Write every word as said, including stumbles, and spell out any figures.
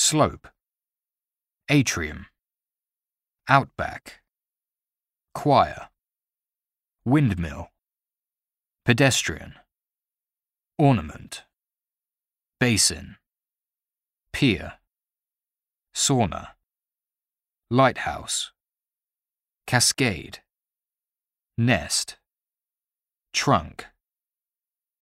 slope, atrium, outback, choir, windmill, pedestrian, ornament, basin, pier, sauna, lighthouse, cascade, nest, trunk,